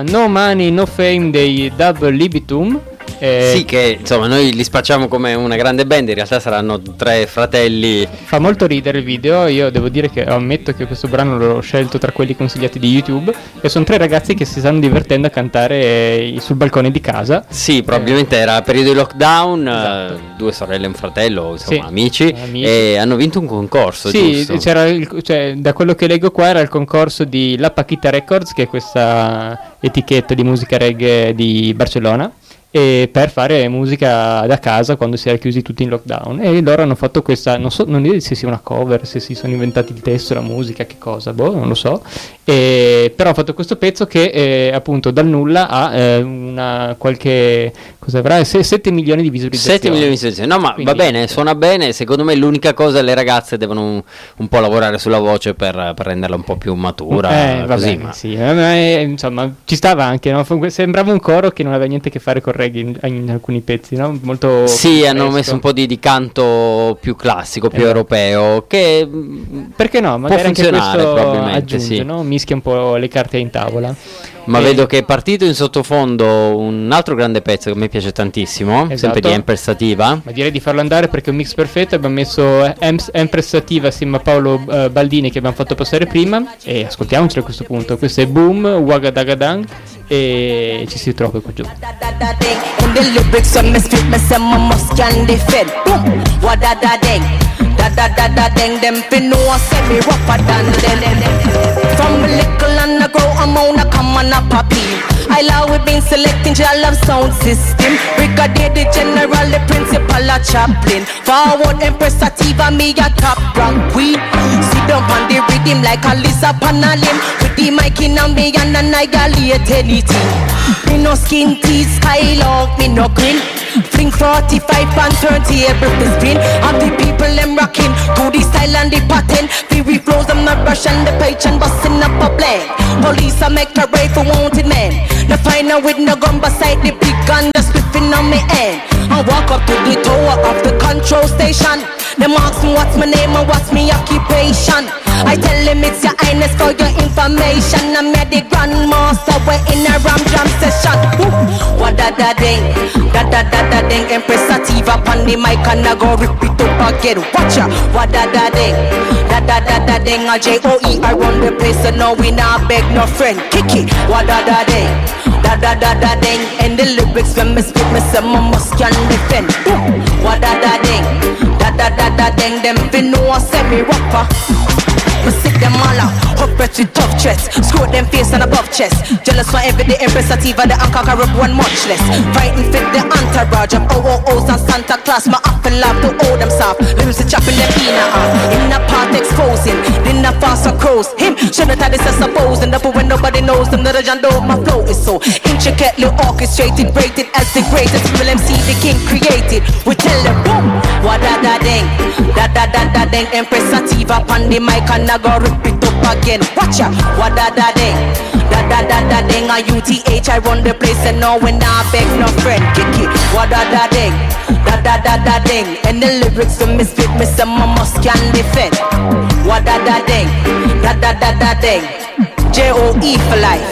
No Money No Fame dei Dub Libitum. Sì, che insomma noi li spacciamo come una grande band, in realtà saranno 3 fratelli. Fa molto ridere il video, io devo dire che ammetto che questo brano l'ho scelto tra quelli consigliati di YouTube, e sono 3 ragazzi che si stanno divertendo a cantare sul balcone di casa. Sì, probabilmente era periodo di lockdown, esatto. 2 sorelle e un fratello, insomma, amici, e hanno vinto un concorso, sì, giusto? C'era cioè, da quello che leggo qua era il concorso di La Paquita Records, che è questa etichetta di musica reggae di Barcellona, e per fare musica da casa quando si era chiusi tutti in lockdown, e loro hanno fatto questa, non so se sia una cover, se si sono inventati il testo, la musica, che cosa, non lo so, però hanno fatto questo pezzo che appunto dal nulla ha una qualche, cosa avrà, 7 milioni di visualizzazioni. 7 milioni di visualizzazioni, no, ma quindi, va bene, suona bene. Secondo me l'unica cosa, le ragazze devono un po' lavorare sulla voce per renderla un po' più matura, così, bene, ma sì, insomma ci stava anche, no? Sembrava un coro che non aveva niente a che fare con reggae in alcuni pezzi, no? Molto sì, hanno messo un po' di canto più classico, più europeo, che perché no, magari può funzionare, anche questo probabilmente aggiunge, sì. No? Mischia un po' le carte in tavola. Ma vedo che è partito in sottofondo un altro grande pezzo che a me piace tantissimo, esatto. Sempre di Empress Sativa. Ma direi di farlo andare perché è un mix perfetto. Abbiamo messo Empress Sativa assieme a Paolo Baldini, che abbiamo fatto passare prima, e ascoltiamocelo a questo punto. Questo è Boom, Wagadagadang, e ci si trova qua giù. Them fin know say me rougher than them. From little and I grow, I'm on a come on a poppy. I love we been selecting your love sound system. Brigadier the general, the principal, a chaplain. Forward Empress Sativa, me a top rock queen. Sit down on the rhythm like a Lisa Panalim. With the mic in on me and annihilate anything. Me no skin teeth, high love, me no grin. Fling 45 and 30 able to spin. Of the people them rocking to the style and the pattern. Fury flows, I'm not rushing the page and busting up a blend. Police I make a raid for wanted men. The final with no gun beside the big gun that's whipping on me end. I walk up to the tower of the control station. Them ask me what's my name and what's my occupation. I tell them it's your highness for your information. I'm the grandmaster, we're in a ram jam session. What da da ding, da da da da ding. Empress Sativa on the mic and I go rip it up again. Watch ya, what da da ding, da da da da ding. A J-O-E, I run the place and now we not beg no friend. Kick it, what da da ding, da da da da ding. And the lyrics when me speak, me say my must can defend. What da da ding, da da da da ding. Them fin know I say me rapper. We sick them all out, hopeless with tough chest. Screw them face and above chest. Jealous for every day, Empress Sativa, the anchor up one much less. Fighting fit the entourage of OOOs and Santa Claus. My apple love to hold them soft. Limbs chopping them in a part exposing. Then the faster crows. Him, shouldn't have this as supposing. Therefore when nobody knows them, the legend of my flow is so intricately orchestrated, rated as the greatest. Will MC the king created. We tell them boom, what da da ding, da da da da ding. Empress Sativa on the mic and I go rip it up again. Watch ya, what da da ding, da da da da ding. A UTH, I run the place and now when I beg no friend. Kick it, what da da ding, da da da da ding. And the lyrics for misfit, me say my must can defend. What da da ding, da da da da ding. J-O-E for life.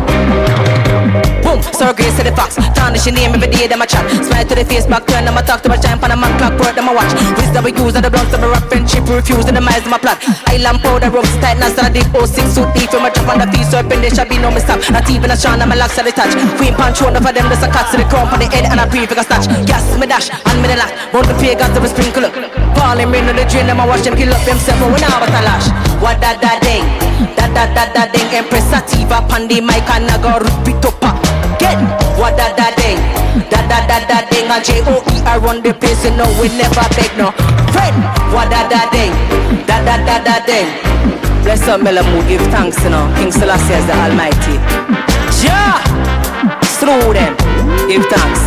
Boom, so grace to the fox. Tarnish your name every day, them a chat. Smile to the face, back turn, them a talk to my giant, pan a man clock, work, them a watch. Wisdom we use, and the blunts, them a rap, friendship, refuse, and the miles, them a plot. Island powder, ropes, tight, now start the 06 suit, deep, from a drop on the feet, serpent, there shall be no mistake. Not even a shine, and my locks at the touch. Queen punch, one of them, there's a cut to the crown, for the head, and a prefix, a snatch. Gas, me dash, and me the lack. Round the pagans, them a sprinkle up. Falling rain on the drain, them a wash them, kill up themselves, but we now but a lash. What da da ding, da da da da ding. Empress Sativa, pan the mic, and I go rip it up. Get what da da ding, da da da da ding. A J-O-E, I run the place, you know we never beg no friend. What da da ding, da da da da ding. Bless up Melamu, give thanks, you know. King Selassie is the Almighty. Ja, through them, give thanks.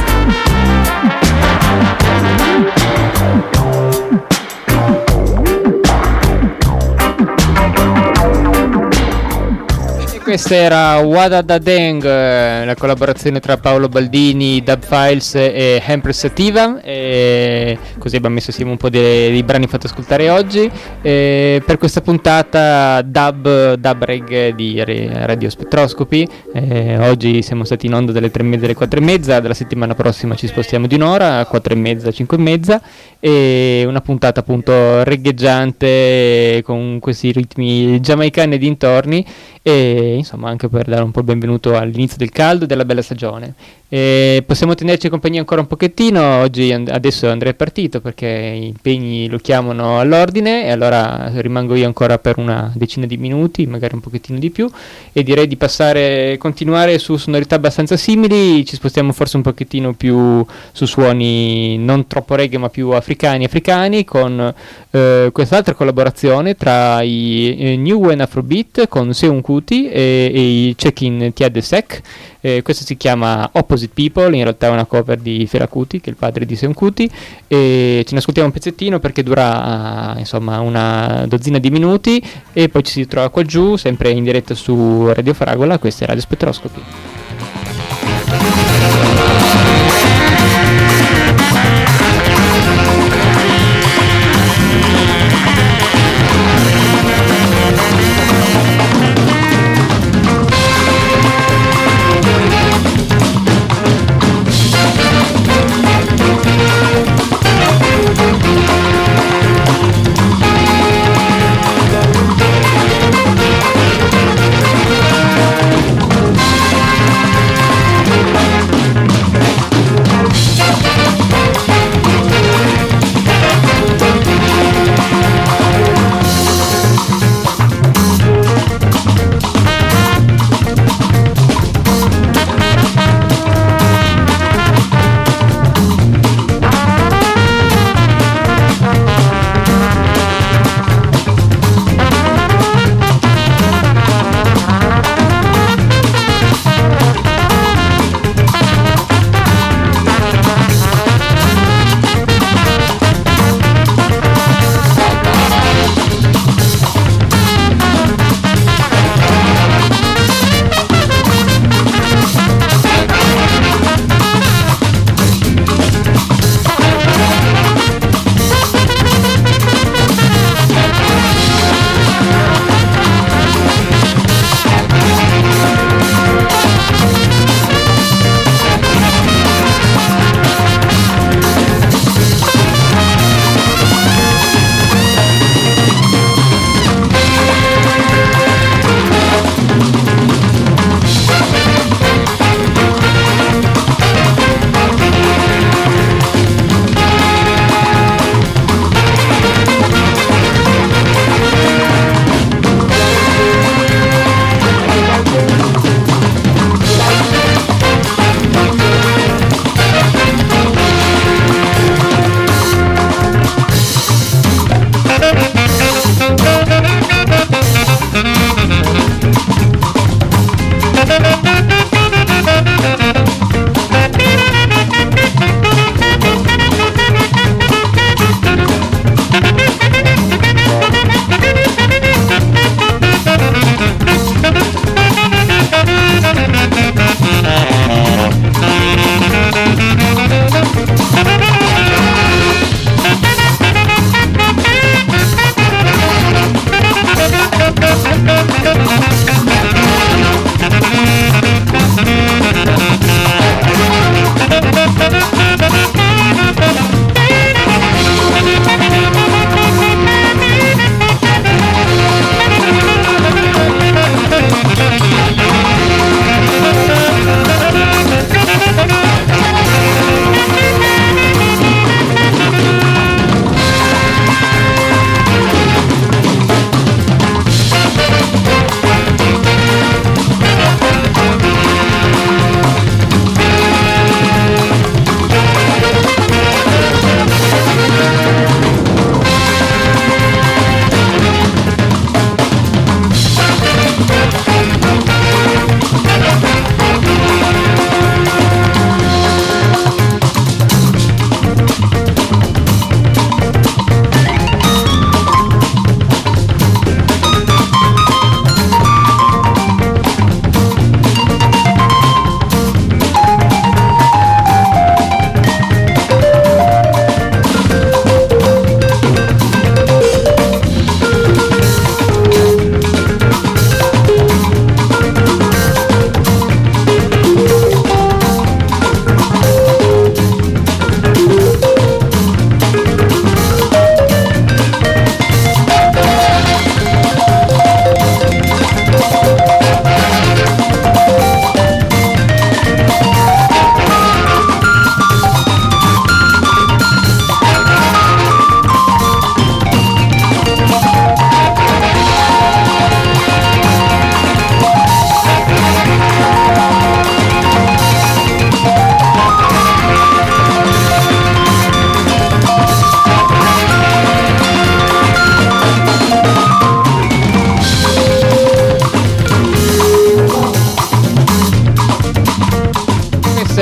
Questa era Wada Da Deng, la collaborazione tra Paolo Baldini, Dub Files e Empress Sativa, e così abbiamo messo assieme un po' dei brani fatti ascoltare oggi, per questa puntata dub reggae di Radio Spettroscopy. Oggi siamo stati in onda dalle 3:30 alle 4:30, dalla settimana prossima ci spostiamo di un'ora, 4:30, 5:30, e una puntata appunto reggaeggiante con questi ritmi giamaicani e dintorni, e insomma anche per dare un po' il benvenuto all'inizio del caldo e della bella stagione. Possiamo tenerci compagnia ancora un pochettino. Oggi adesso Andrea è partito perché gli impegni lo chiamano all'ordine, e allora rimango io ancora per una decina di minuti, magari un pochettino di più, e direi di continuare su sonorità abbastanza simili. Ci spostiamo forse un pochettino più su suoni non troppo reggae ma più africani con quest'altra collaborazione tra i New Wen Afrobeat con Seun Kuti e i Check-in Tiade Sec. Questo si chiama Opposite People, in realtà è una cover di Fela Kuti, che è il padre di Seun Kuti, e ce ne ascoltiamo un pezzettino perché dura insomma una dozzina di minuti, e poi ci si trova qua giù sempre in diretta su Radio Fragola. Questa è Radio Spettroscopy.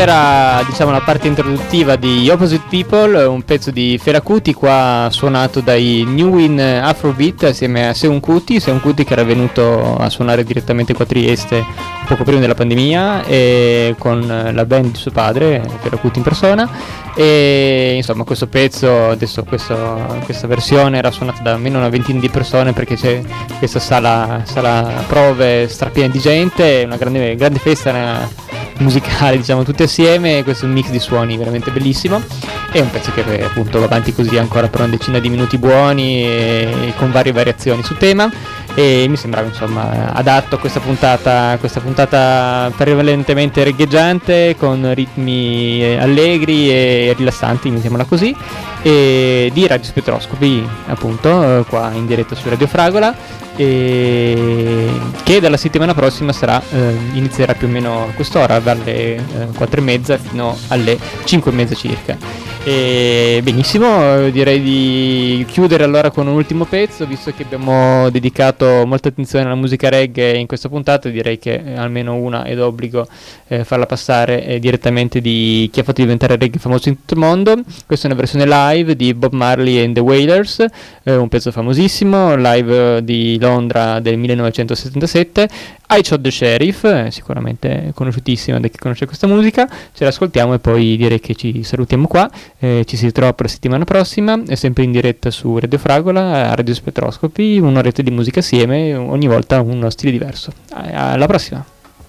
era, diciamo, la parte introduttiva di Opposite People, un pezzo di Fela Kuti, qua suonato dai New In Afrobeat assieme a Seun Kuti che era venuto a suonare direttamente qua a Trieste poco prima della pandemia, e con la band di suo padre, Fela Kuti in persona. E insomma questo pezzo, adesso questa versione era suonata da almeno una ventina di persone, perché c'è questa sala prove strapiena di gente, una grande festa musicale, diciamo, tutti assieme. Questo è un mix di suoni veramente bellissimo, è un pezzo che appunto va avanti così ancora per una decina di minuti buoni, e con varie variazioni su tema, e mi sembrava insomma adatto a questa puntata prevalentemente reggaeggiante, con ritmi allegri e rilassanti, mettiamola così, e di Radio Spettroscopy, appunto, qua in diretta su Radio Fragola, che dalla settimana prossima inizierà più o meno a quest'ora, dalle 4:30 fino alle 5:30 circa. E benissimo, direi di chiudere allora con un ultimo pezzo, visto che abbiamo dedicato molta attenzione alla musica reggae in questa puntata. Direi che almeno una è d'obbligo farla passare direttamente di chi ha fatto diventare reggae famoso in tutto il mondo. Questa è una versione live di Bob Marley and the Wailers, un pezzo famosissimo, live di Londra del 1977. I Shot the Sheriff, sicuramente conosciutissima da chi conosce questa musica. Ce l'ascoltiamo e poi direi che ci salutiamo qua. Ci si ritrova per la settimana prossima, è sempre in diretta su Radio Fragola, a Radio Spettroscopy, un'oretta di musica assieme, ogni volta uno stile diverso. Alla prossima!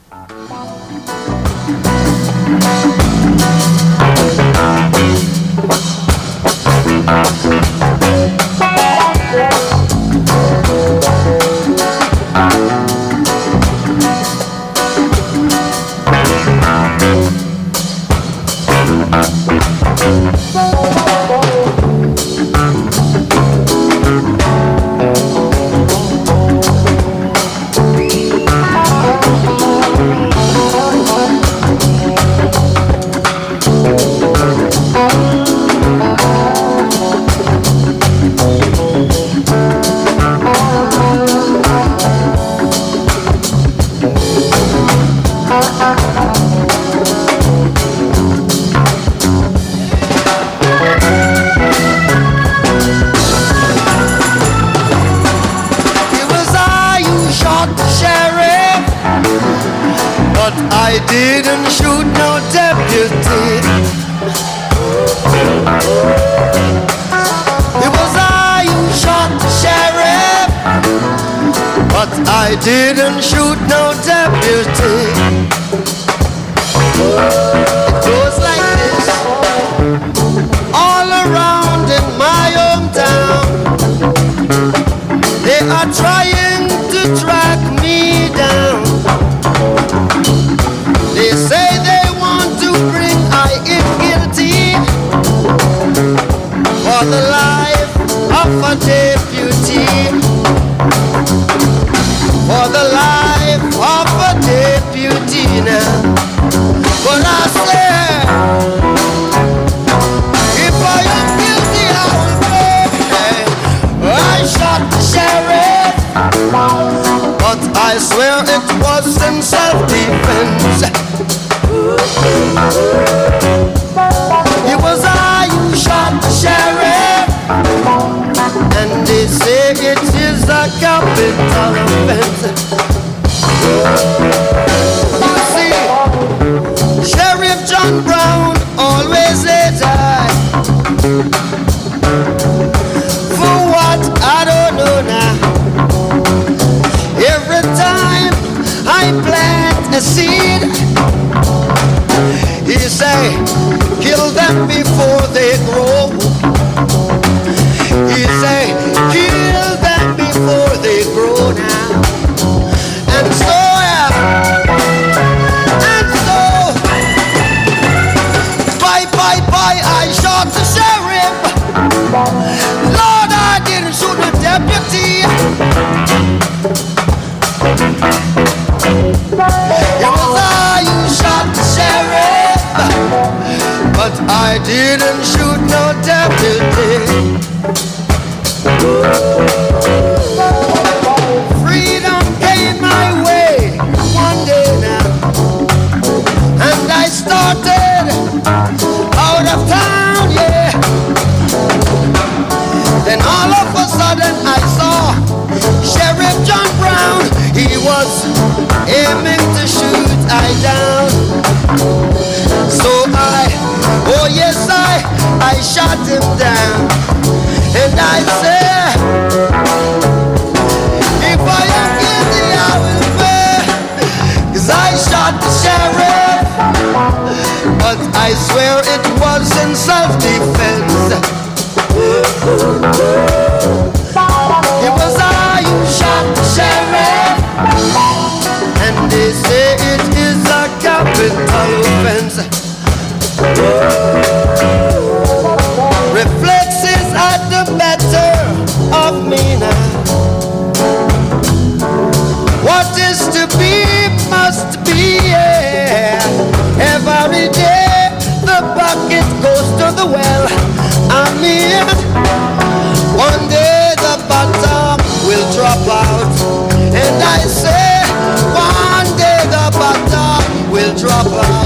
I didn't shoot no deputy. It was I who shot the sheriff, but I didn't shoot no deputy. It goes like this, all around in my hometown, they are trying to track me down. They say they want to bring I in guilty for the life of a deputy, for the life of a deputy now. But I say, if I am guilty, I will pay. I shot the sheriff, but I swear it was in self-defense. It was I who shot the sheriff, and they say it is a capital offense. You see, Sheriff John Brown always says I. For what? I don't know now. Every time I plant a seed, he say, kill them before they grow. He say, kill them before they grow now. And so, I shot the sheriff. Lord, I didn't shoot the deputy. It was I who shot the sheriff, but I didn't shoot no deputy. Freedom came my way one day now, and I started Then all of a sudden I saw Sheriff John Brown. He was aiming to shoot I down. So oh yes I shot him down. And I said, if I am guilty I will pay, 'cause I shot the sheriff. But I swear it was in self-defense. It was I who shot the sheriff. And they say it is a capital offense. Reflexes are the better of me now. What is to be must be, yeah. Every day the bucket goes to the well. I mean, one day the bottom will drop out. And I say, one day the bottom will drop out.